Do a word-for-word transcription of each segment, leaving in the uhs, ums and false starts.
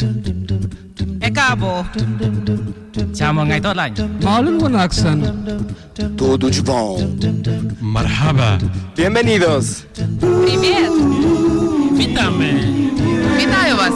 Ẹ káàbọ̀. Chào mừng ngày tốt lành. Maalin wanaagsan. Tudo de bom. Marhaba. Bienvenidos. Привет. Witamy. Вітаю вас.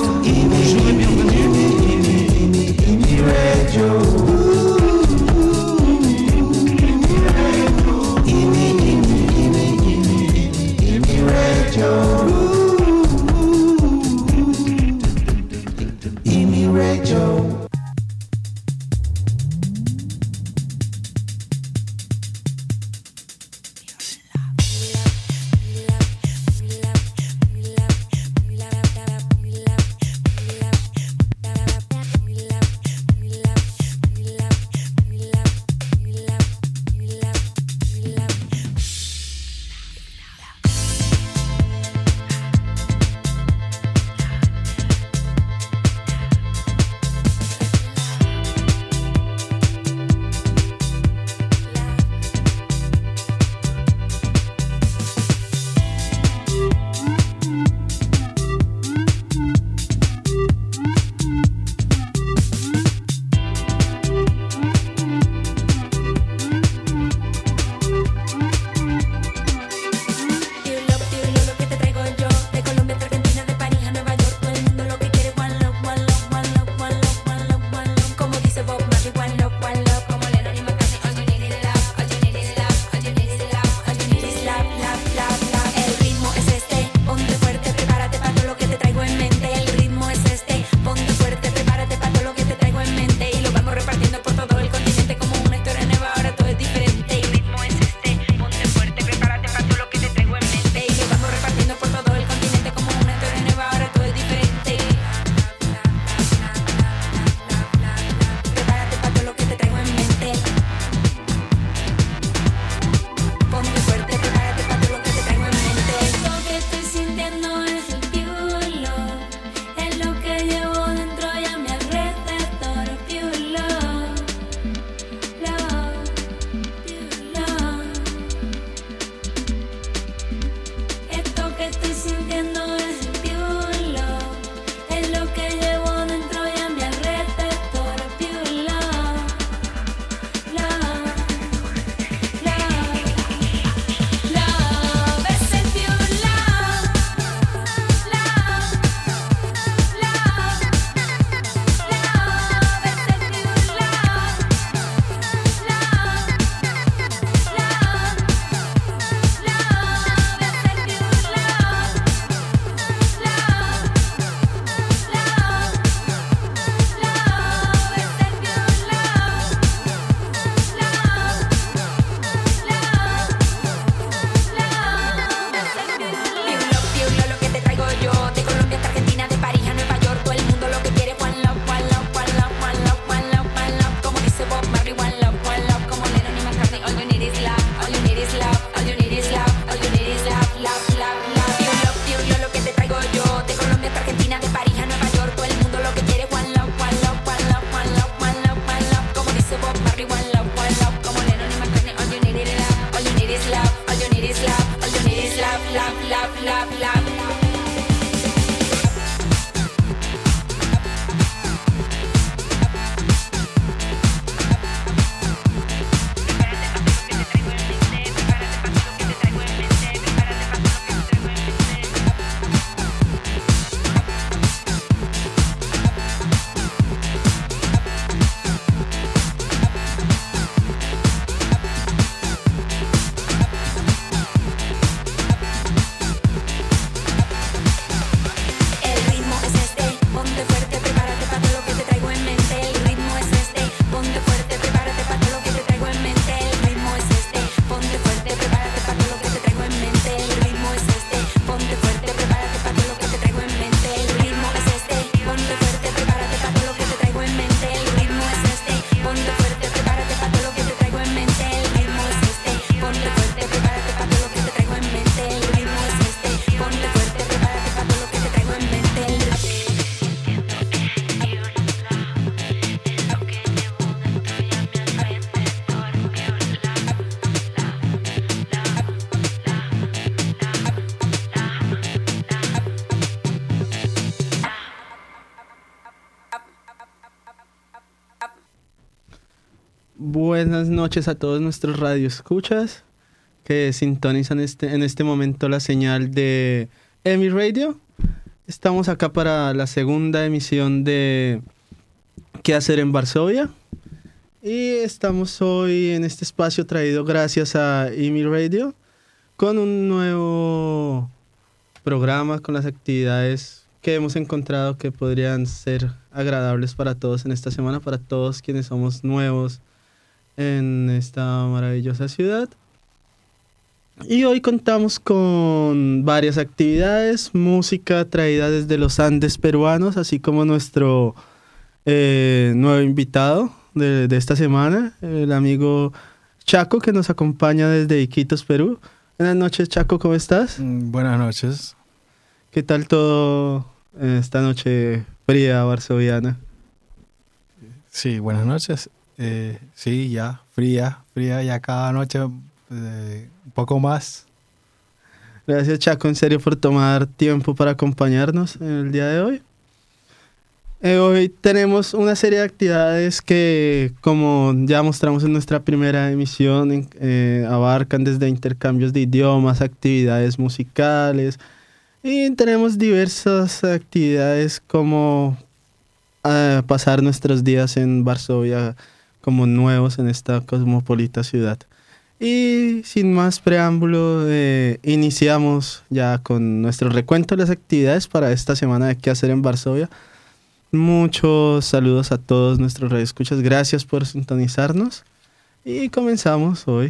Buenas noches a todos nuestros radioescuchas que sintonizan este, en este momento la señal de EMI Radio. Estamos acá para la segunda emisión de ¿Qué hacer en Varsovia? Y estamos hoy en este espacio traído gracias a EMI Radio con un nuevo programa con las actividades que hemos encontrado que podrían ser agradables para todos en esta semana, para todos quienes somos nuevos en esta maravillosa ciudad. Y hoy contamos con varias actividades, música traída desde los Andes peruanos, así como nuestro eh, nuevo invitado de, de esta semana, el amigo Chaco, que nos acompaña desde Iquitos, Perú. Buenas noches, Chaco, ¿cómo estás? Mm, Buenas noches. ¿Qué tal todo en esta noche fría varsoviana? Sí, buenas noches. Eh, sí, ya, fría, fría, ya cada noche eh, un poco más. Gracias, Chaco, en serio, por tomar tiempo para acompañarnos en el día de hoy. Eh, hoy tenemos una serie de actividades que, como ya mostramos en nuestra primera emisión, en- eh, abarcan desde intercambios de idiomas, actividades musicales, y tenemos diversas actividades como eh, pasar nuestros días en Varsovia como nuevos en esta cosmopolita ciudad. Y sin más preámbulo, eh, iniciamos ya con nuestro recuento de las actividades para esta semana de qué hacer en Varsovia. Muchos saludos a todos nuestros radioescuchas. Gracias por sintonizarnos. Y comenzamos hoy.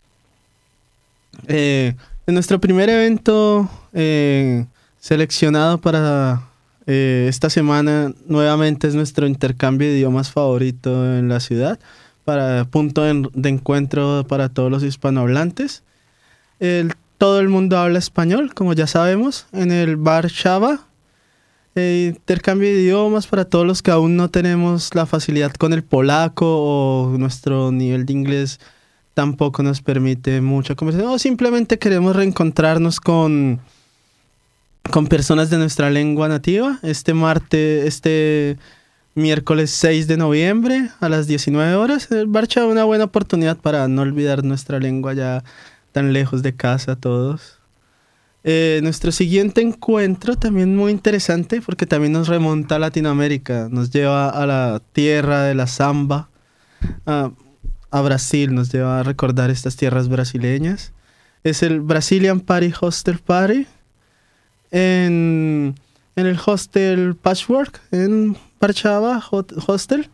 Eh, en nuestro primer evento eh, seleccionado para eh, esta semana, nuevamente es nuestro intercambio de idiomas favorito en la ciudad, para punto de, de encuentro para todos los hispanohablantes. El, todo el mundo habla español, como ya sabemos, en el bar Chava. Eh, intercambio de idiomas para todos los que aún no tenemos la facilidad con el polaco o nuestro nivel de inglés tampoco nos permite mucha conversación, o simplemente queremos reencontrarnos con, con personas de nuestra lengua nativa. Este martes, este miércoles seis de noviembre a las diecinueve horas, el bar Chava, una buena oportunidad para no olvidar nuestra lengua ya tan lejos de casa todos. Eh, nuestro siguiente encuentro también muy interesante porque también nos remonta a Latinoamérica, nos lleva a la tierra de la samba, a, a Brasil, nos lleva a recordar estas tierras brasileñas. Es el Brazilian Party Hostel Party en, en el Hostel Patchwork en Parchava Hot- Hostel.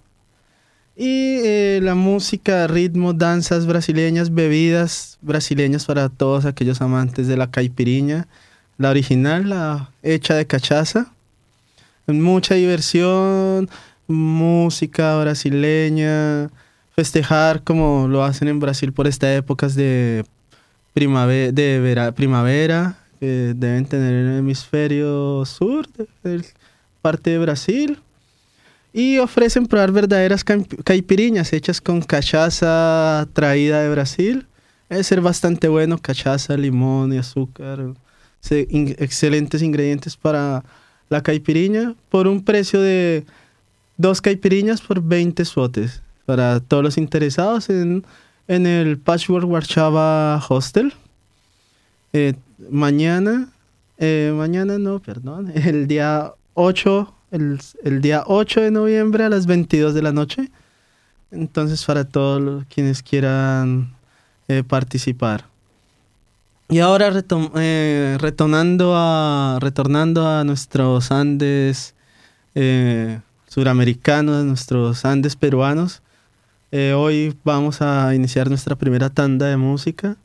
Y eh, la música, ritmo, danzas brasileñas, bebidas brasileñas para todos aquellos amantes de la caipiriña, la original, la hecha de cachaza. Mucha diversión, música brasileña, festejar como lo hacen en Brasil por estas épocas de primavera, de vera- primavera que deben tener en el hemisferio sur, de, de parte de Brasil. Y ofrecen probar verdaderas camp- caipiriñas hechas con cachaza traída de Brasil. Debe ser bastante bueno, cachaza, limón y azúcar. Se- in- excelentes ingredientes para la caipiriña por un precio de dos caipiriñas por veinte zlotys. Para todos los interesados en, en el Patchwork Warszava Hostel. Eh, mañana, eh, mañana no, perdón, el día ocho El, el día ocho de noviembre a las veintidós de la noche. Entonces, para todos los, quienes quieran eh, participar. Y ahora retom- eh, retornando, a, retornando a nuestros Andes eh, suramericanos, nuestros Andes peruanos. Eh, hoy vamos a iniciar nuestra primera tanda de música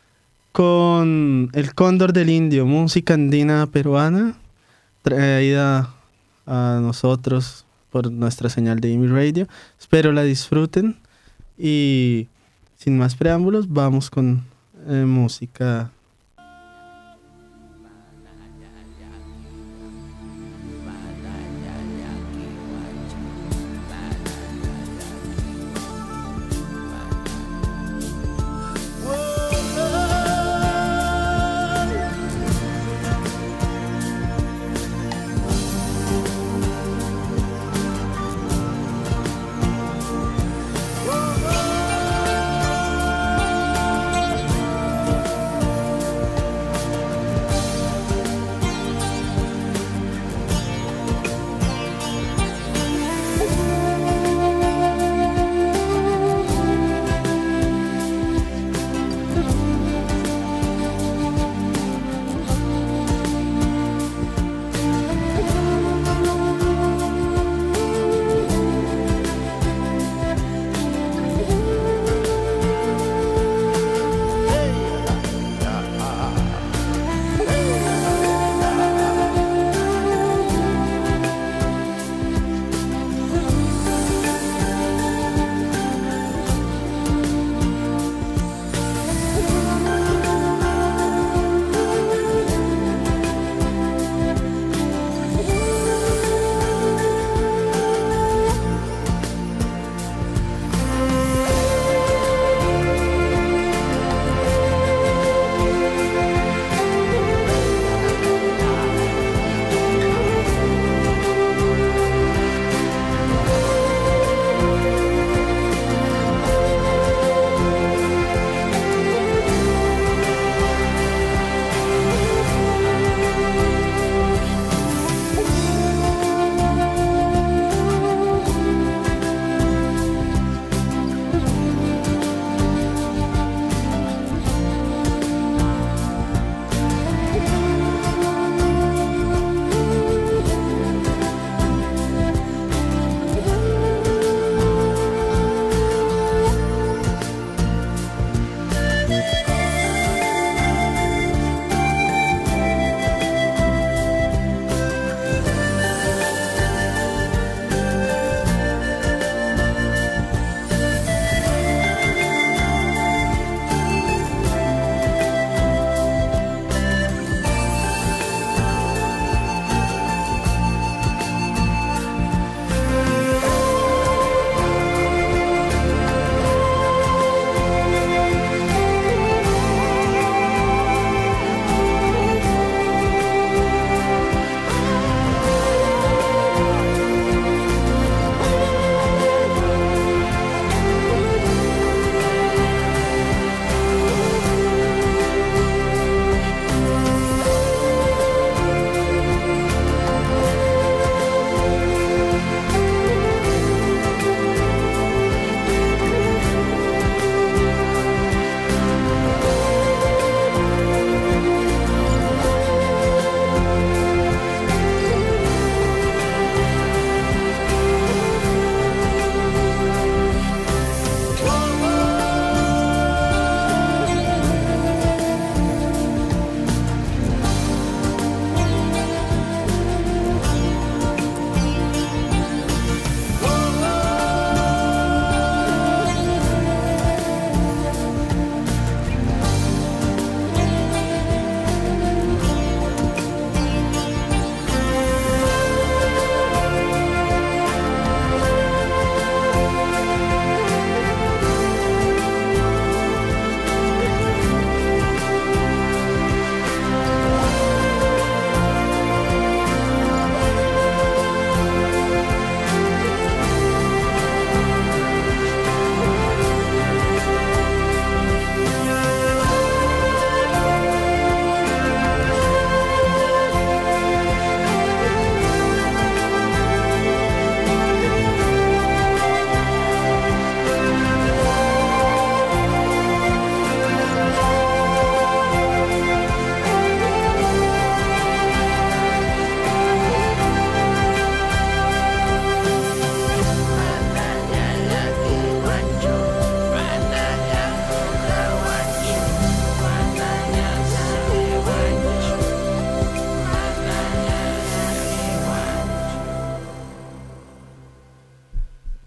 con El Cóndor del Indio, música andina peruana, traída a nosotros por nuestra señal de EMI Radio. Espero la disfruten y sin más preámbulos vamos con eh, música. Oh,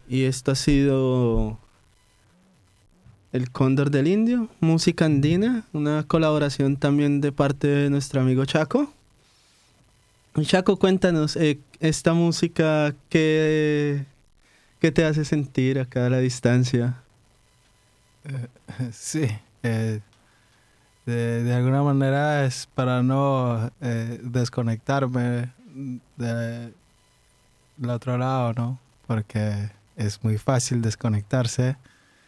y esto ha sido El Cóndor del Indio, música andina, una colaboración también de parte de nuestro amigo Chaco. Y Chaco, cuéntanos, eh, esta música, ¿qué, ¿qué te hace sentir acá a la distancia? Eh, sí, eh, de, de alguna manera es para no eh, desconectarme de, del otro lado, ¿no? Porque es muy fácil desconectarse.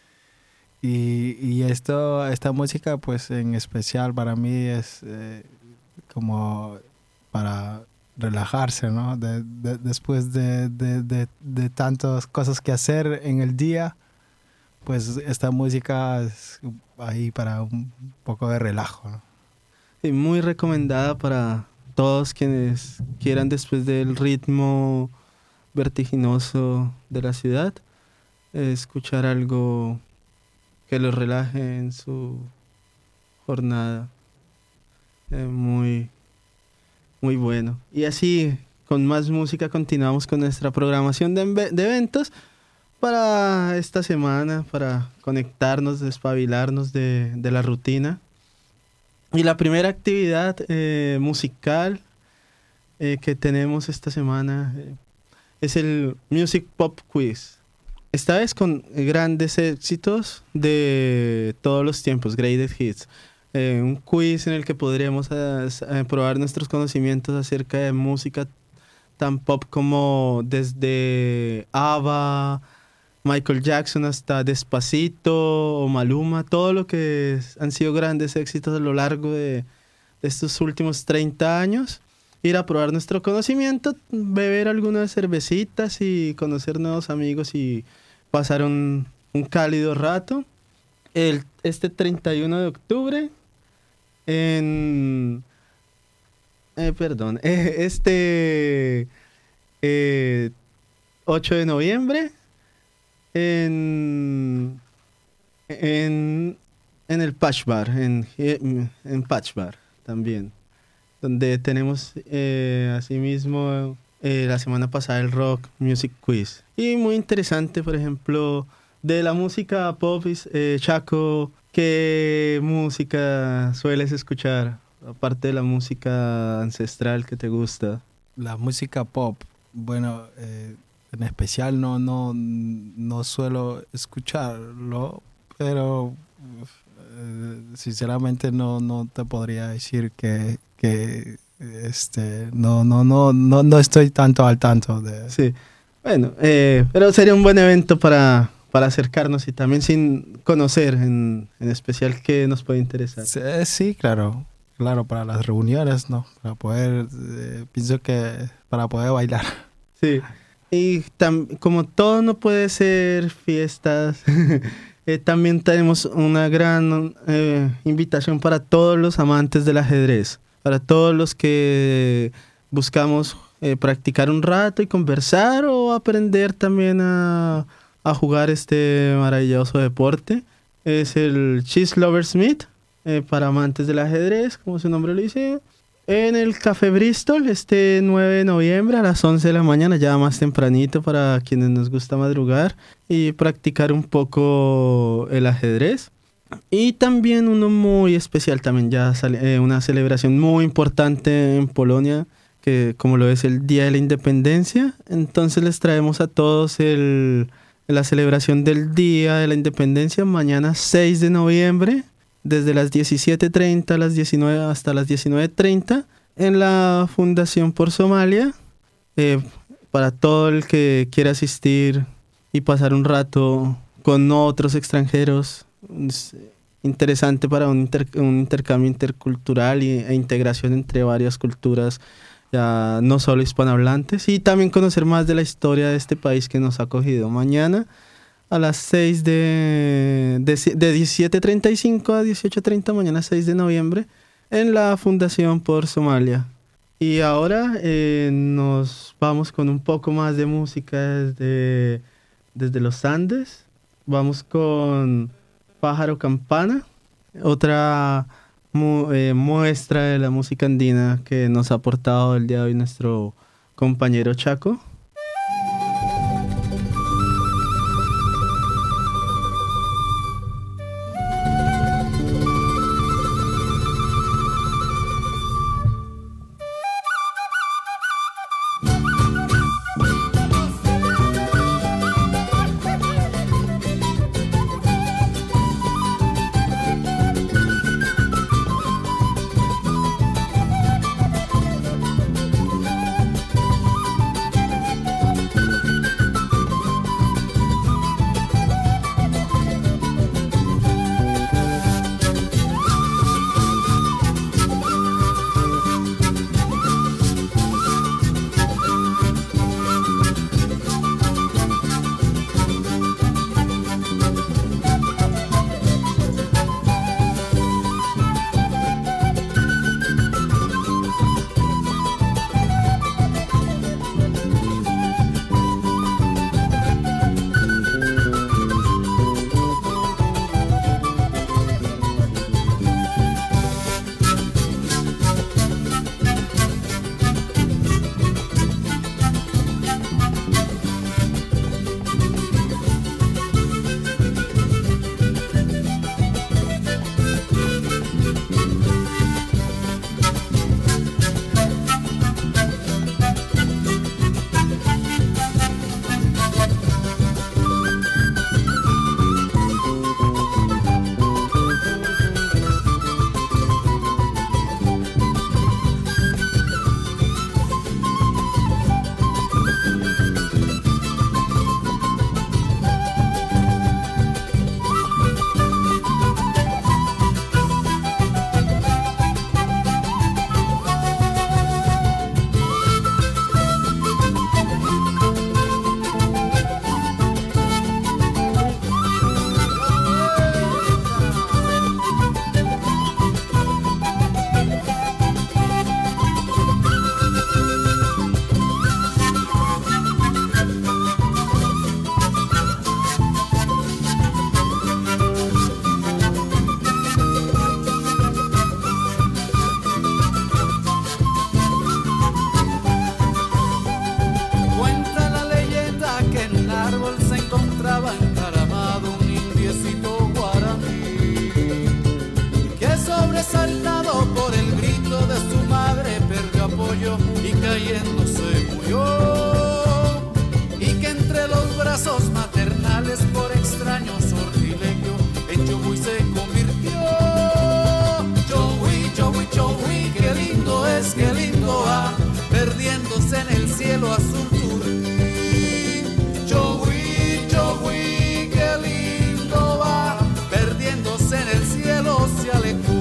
Y, y esto, esta música, pues en especial para mí es eh, como para relajarse, ¿no? De, de, después de, de, de, de tantas cosas que hacer en el día, pues esta música es ahí para un poco de relajo, ¿no? Sí, muy recomendada para todos quienes quieran, después del ritmo vertiginoso de la ciudad, eh, escuchar algo que los relaje en su jornada. Eh, muy, muy bueno. Y así, con más música, continuamos con nuestra programación de, de eventos para esta semana, para conectarnos, despabilarnos de, de la rutina. Y la primera actividad eh, musical eh, que tenemos esta semana eh, es el Music Pop Quiz. Esta vez con grandes éxitos de todos los tiempos, Greatest Hits. Eh, un quiz en el que podremos eh, eh, probar nuestros conocimientos acerca de música tan pop como desde ABBA, Michael Jackson hasta Despacito o Maluma, todo lo que es, han sido grandes éxitos a lo largo de, de estos últimos treinta años. Ir a probar nuestro conocimiento, beber algunas cervecitas y conocer nuevos amigos y pasar un, un cálido rato. El, este treinta y uno de octubre, en... Eh, perdón, eh, este eh, ocho de noviembre, en, en, en el Patch Bar, en, en Patch Bar también, donde tenemos eh, asimismo eh, la semana pasada el Rock Music Quiz. Y muy interesante, por ejemplo, de la música pop, eh, Chaco, ¿qué música sueles escuchar? Aparte de la música ancestral que te gusta. La música pop, bueno, eh, en especial no, no, no suelo escucharlo, pero eh, sinceramente no, no te podría decir que, que este, no, no, no, no, no estoy tanto al tanto de... Sí, bueno, eh, pero sería un buen evento para, para acercarnos y también sin conocer en, en especial qué nos puede interesar. Sí, sí, claro. Claro, para las reuniones, ¿no? Para poder, eh, pienso que para poder bailar. Sí, y tam- como todo no puede ser fiestas, eh, también tenemos una gran eh, invitación para todos los amantes del ajedrez, para todos los que buscamos eh, practicar un rato y conversar o aprender también a, a jugar este maravilloso deporte. Es el Chess Lovers Meet. Eh, para amantes del ajedrez, como su nombre lo dice, en el Café Bristol, este nueve de noviembre a las once de la mañana, ya más tempranito para quienes nos gusta madrugar y practicar un poco el ajedrez. Y también uno muy especial, también ya sale, eh, una celebración muy importante en Polonia, que como lo es el Día de la Independencia. Entonces les traemos a todos el, la celebración del Día de la Independencia, mañana seis de noviembre, desde las diecisiete treinta a las diecinueve hasta las diecinueve treinta en la Fundación por Somalia. Eh, para todo el que quiera asistir y pasar un rato con otros extranjeros, es interesante para un, inter, un intercambio intercultural y, e integración entre varias culturas, ya no solo hispanohablantes, y también conocer más de la historia de este país que nos ha acogido. Mañana a las seis de, de, de diecisiete treinta y cinco a dieciocho treinta, mañana seis de noviembre, en la Fundación por Somalia. Y ahora eh, nos vamos con un poco más de música desde, desde los Andes. Vamos con Pájaro Campana, otra mu, eh, muestra de la música andina que nos ha aportado el día de hoy nuestro compañero Chaco. cielo azul turquí. Chogui, chogui, qué lindo va, perdiéndose en el cielo se alejó.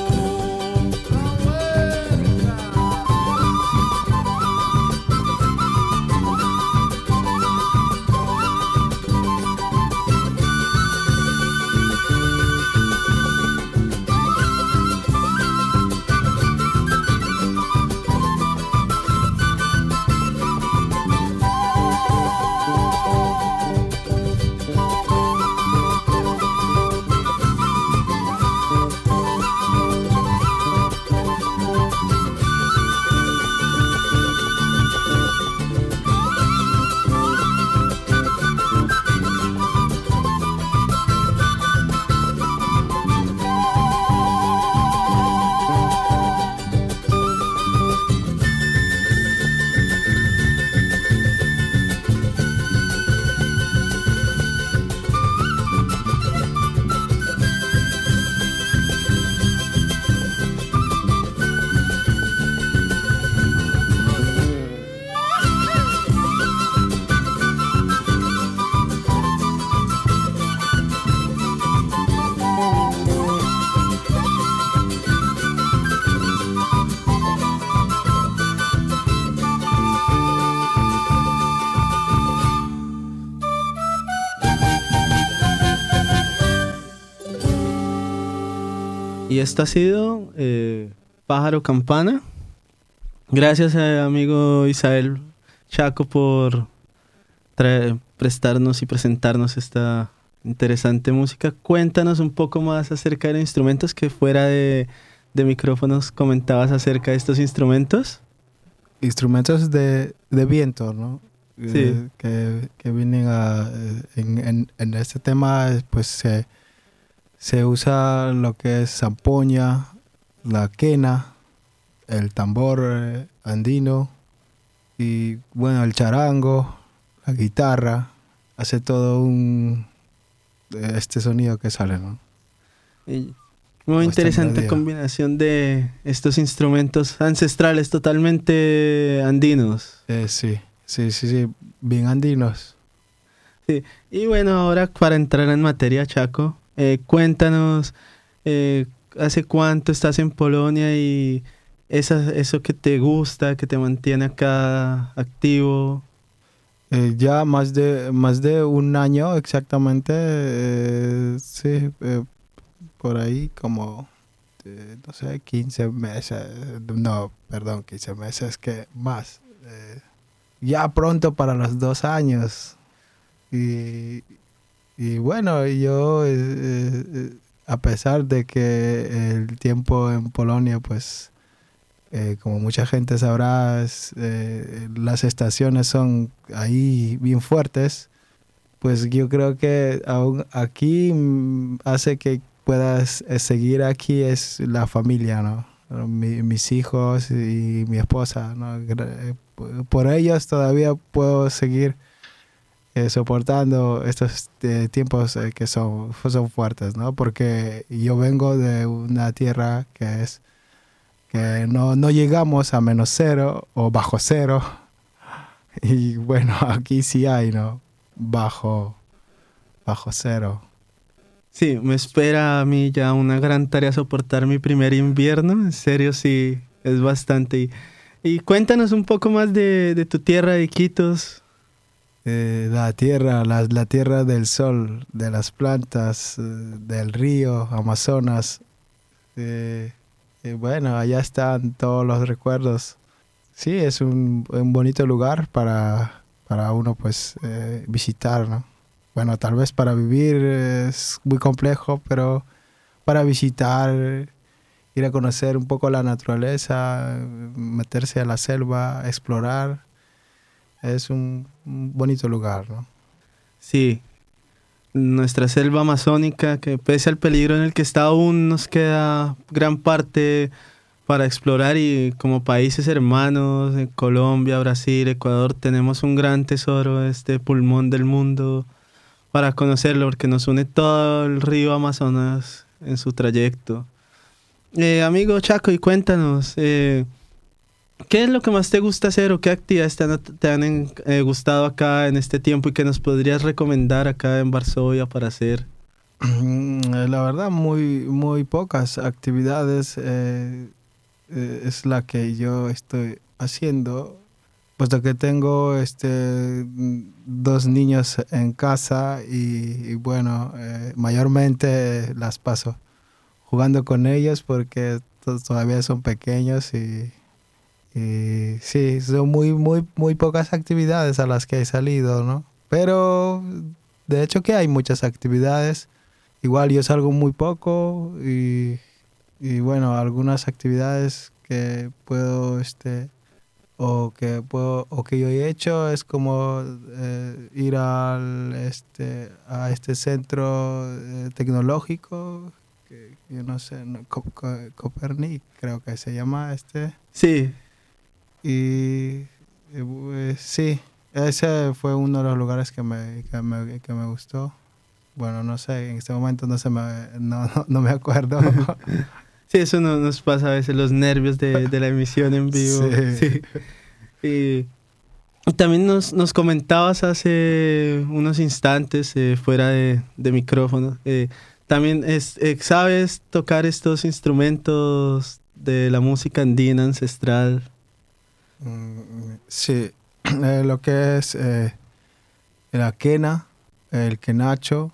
Y esto ha sido eh, Pájaro Campana. Gracias, eh, amigo Isael Chaco, por traer, prestarnos y presentarnos esta interesante música. Cuéntanos un poco más acerca de los instrumentos, que fuera de, de micrófonos comentabas acerca de estos instrumentos. Instrumentos de, de viento, ¿no? Sí. Eh, que, que vienen a... En, en, en este tema, pues se... Se usa lo que es zampoña, la quena, el tambor eh, andino y, bueno, el charango, la guitarra. Hace todo un... este sonido que sale, ¿no? Y muy interesante melodía. Combinación de estos instrumentos ancestrales totalmente andinos. Eh, sí, sí, sí, sí, bien andinos. Sí. Y bueno, ahora para entrar en materia, Chaco, eh, cuéntanos, eh, ¿hace cuánto estás en Polonia y esa, eso que te gusta, que te mantiene acá activo? Eh, ya más de más de un año exactamente, eh, sí, eh, por ahí como, eh, no sé, quince meses, no, perdón, quince meses, que más. Eh, ya pronto para los dos años. Y, y bueno, yo, eh, eh, a pesar de que el tiempo en Polonia, pues, eh, como mucha gente sabrá, es, eh, las estaciones son ahí bien fuertes, pues yo creo que aún aquí mm, hace que puedas eh, seguir aquí es la familia, ¿no? Mi, mis hijos y mi esposa, ¿no? Por ellos todavía puedo seguir eh, soportando estos eh, tiempos eh, que son, son fuertes, ¿no? Porque yo vengo de una tierra que es que no, no llegamos a menos cero o bajo cero. Y bueno, aquí sí hay, ¿no? Bajo, bajo cero. Sí, me espera a mí ya una gran tarea soportar mi primer invierno. En serio, sí, es bastante. Y, y cuéntanos un poco más de, de tu tierra de Iquitos. Eh, la tierra, la, la tierra del sol, de las plantas, eh, del río Amazonas. Eh, eh, bueno, allá están todos los recuerdos. Sí, es un, un bonito lugar para, para uno pues eh, visitar, ¿no? Bueno, tal vez para vivir es muy complejo, pero para visitar, ir a conocer un poco la naturaleza, meterse a la selva, explorar, es un, un bonito lugar, ¿no? Sí, nuestra selva amazónica, que pese al peligro en el que está aún, nos queda gran parte para explorar, y como países hermanos, en Colombia, Brasil, Ecuador, tenemos un gran tesoro, este pulmón del mundo, para conocerlo, porque nos une todo el río Amazonas en su trayecto. Eh, amigo Chaco, y cuéntanos, eh, ¿qué es lo que más te gusta hacer o qué actividades te han, te han eh, gustado acá en este tiempo y que nos podrías recomendar acá en Varsovia para hacer? La verdad, muy, muy pocas actividades eh, eh, es la que yo estoy haciendo, puesto que tengo este, dos niños en casa y, y bueno, eh, mayormente las paso jugando con ellos porque to- todavía son pequeños y, y sí, son muy, muy, muy pocas actividades a las que he salido, ¿no? Pero de hecho que hay muchas actividades. Igual yo salgo muy poco y, y bueno, algunas actividades que puedo, este, o que puedo, o que yo he hecho es como eh, ir al, este, a este centro eh, tecnológico, que yo no sé, no, Co- Co- Copernic creo que se llama este. Sí. Y eh, sí, ese fue uno de los lugares que me, que me, que me gustó. Bueno, no sé, en este momento no se me, no, no, no me acuerdo. Sí, eso no, nos pasa a veces, los nervios de, de la emisión en vivo. Sí. Sí. Y, y también nos, nos comentabas hace unos instantes, eh, fuera de, de micrófono, eh, también es, eh, sabes tocar estos instrumentos de la música andina ancestral. Mm, sí, eh, lo que es eh, la quena, el quenacho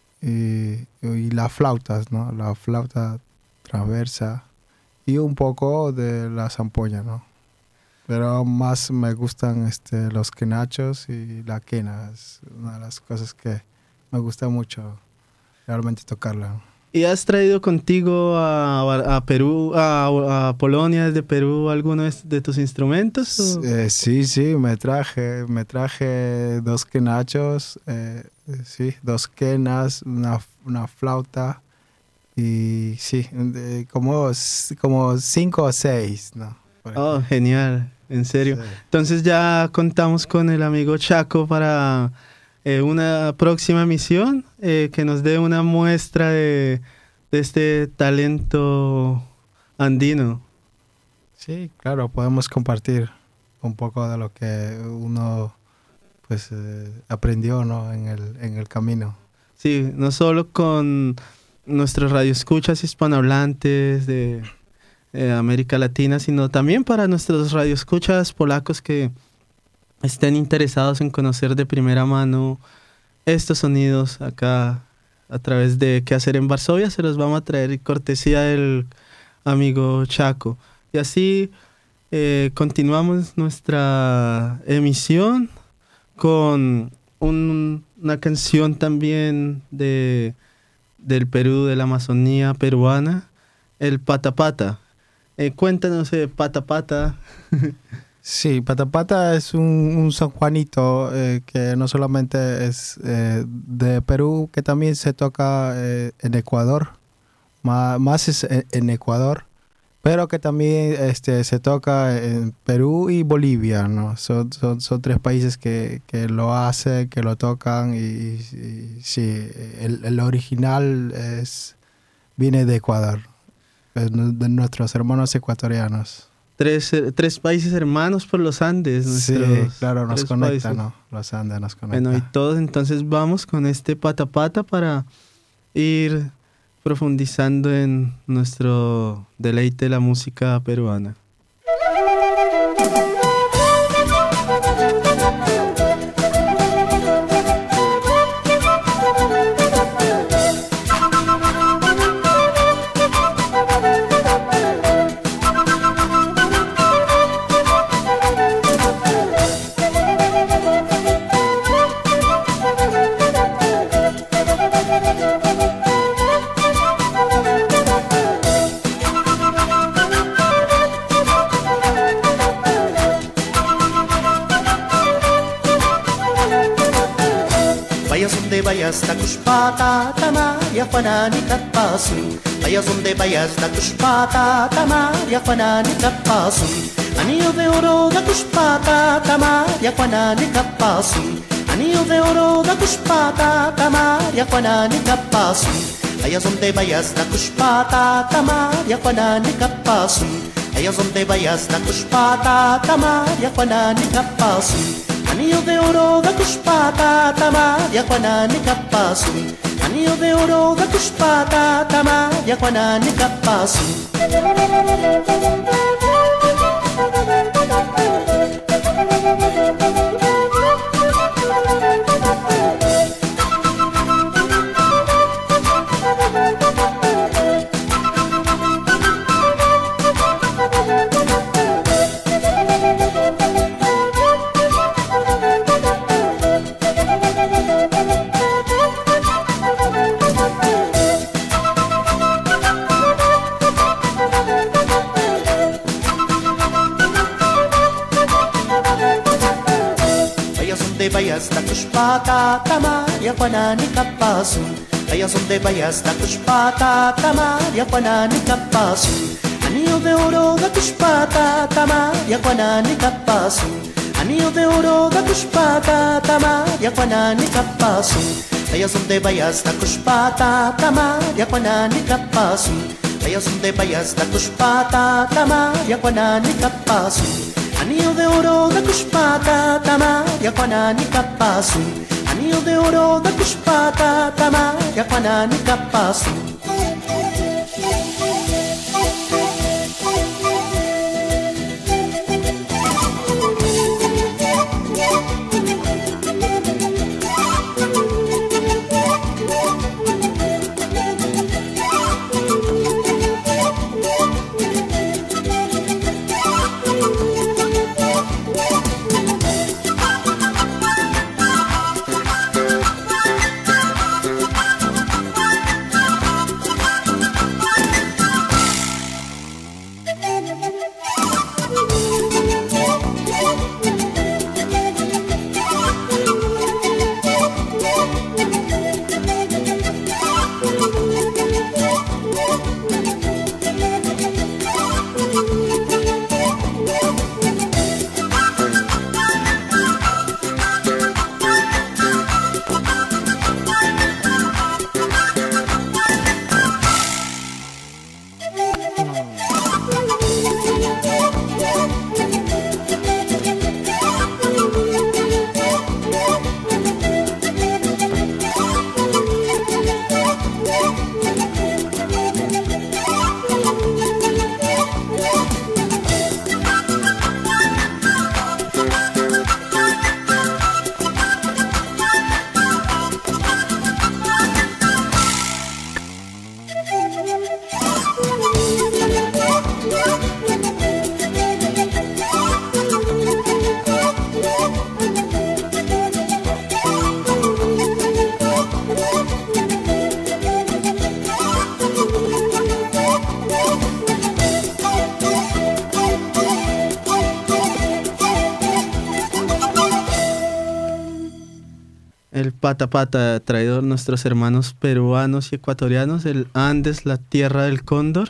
y, y las flautas, ¿no? La flauta transversa y un poco de la zampoña, ¿no? Pero más me gustan este, los quenachos y la quena. Es una de las cosas que me gusta mucho realmente tocarla. ¿Y has traído contigo a, a Perú, a, a Polonia desde Perú alguno de, de tus instrumentos? o? Eh, sí, sí, me traje, me traje dos quenachos, eh, sí, dos quenas, una, una flauta y sí, de- como, como cinco o seis, ¿no? Por Oh, ejemplo. genial, en serio. Sí. Entonces ya contamos con el amigo Chaco para eh, una próxima misión, eh, que nos dé una muestra de, de este talento andino. Sí, claro, podemos compartir un poco de lo que uno pues eh, aprendió, ¿no? en el, en el camino. Sí, no solo con nuestros radioescuchas hispanohablantes de eh, América Latina, sino también para nuestros radioescuchas polacos que estén interesados en conocer de primera mano estos sonidos acá a través de Qué hacer en Varsovia. Se los vamos a traer cortesía del amigo Chaco. Y así eh, continuamos nuestra emisión con un- una canción también de, del Perú, de la Amazonía peruana, el Pata Pata. Eh, cuéntanos, eh, Pata Pata. Sí, Patapata es un, un San Juanito eh, que no solamente es eh, de Perú, que también se toca eh, en Ecuador, Ma- más es en, en Ecuador, pero que también este, se toca en Perú y Bolivia, ¿no? Son, son, son tres países que, que lo hacen, que lo tocan y, y sí, el, el original es, viene de Ecuador, es de nuestros hermanos ecuatorianos. Tres, eh, tres países hermanos por los Andes. Sí, nuestros claro, nos tres conecta, países. ¿no? Los Andes nos conecta. Bueno, y todos entonces vamos con este Pata Pata para ir profundizando en nuestro deleite de la música peruana. Vayas donde vayas, takushpata, tamaria, fanani, tapasun. Vayas donde vayas, takushpata, tamaria, fanani, tapasun. Anillo de oro, takushpata, tamaria, fanani, tapasun. Anillo de oro, takushpata, tamaria, fanani, tapasun. Vayas donde vayas, takushpata, tamaria, fanani, tapasun. allá donde vayas da cuspata, tamaria, Juanani Capazu. Anillo de oro da cuspata, tamaria, Juanani Capazu. Anillo de oro da cuspata, tamaria, Juanani Capazu. Vayas da cuspata, tamaria, Juanani Capazu. Allá donde vayas da cuspata, tamaria, Juanani Capazu. Anillo de oro da cuspata, tamaria, Juanani Capazu. Anillo de oro da cuspata, tamaria, Juanani Capazu. Allá donde vayas da cuspata, tamaria, Juanani Capazu. Allá donde vayas da cuspata, tamaria, Juanani Capazu. Anillo de oro da cuspata, tamaria, Juanani Capazu. Anillo de oro da cuspata, tamaria, Juanani Capazu. El pata pata traído nuestros hermanos peruanos y ecuatorianos, el Andes, la tierra del cóndor.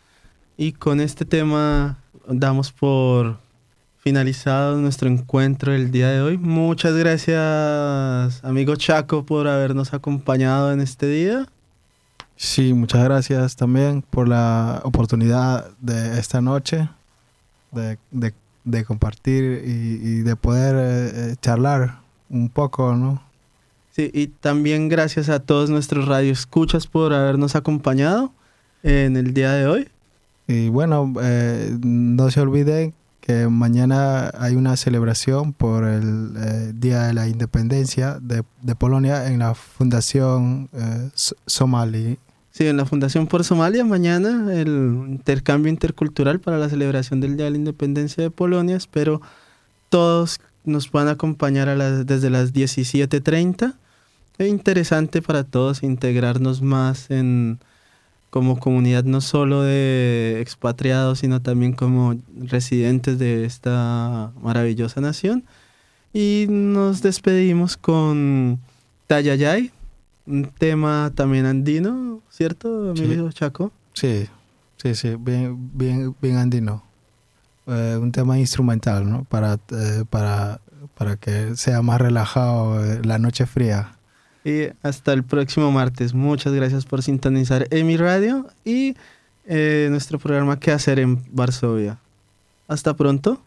Y con este tema damos por finalizado nuestro encuentro del día de hoy. Muchas gracias, amigo Chaco, por habernos acompañado en este día. Sí, muchas gracias también por la oportunidad de esta noche, de, de, de compartir y, y de poder eh, charlar un poco, ¿no? Sí, y también gracias a todos nuestros radioescuchas por habernos acompañado en el día de hoy. Y bueno, eh, no se olviden que mañana hay una celebración por el eh, Día de la Independencia de, de Polonia en la Fundación eh, Somali. Sí, en la Fundación por Somalia, mañana el intercambio intercultural para la celebración del Día de la Independencia de Polonia. Espero todos nos van a acompañar a las, desde las diecisiete treinta. Es interesante para todos integrarnos más en, como comunidad, no solo de expatriados, sino también como residentes de esta maravillosa nación. Y nos despedimos con Tayayay, un tema también andino, ¿cierto, amigo Sí. Chaco? Sí, sí, sí, bien, bien, bien andino. Eh, un tema instrumental, ¿no? Para, eh, para, para que sea más relajado eh, la noche fría. Y hasta el próximo martes. Muchas gracias por sintonizar EMI Radio y eh, nuestro programa ¿Qué hacer en Varsovia? Hasta pronto.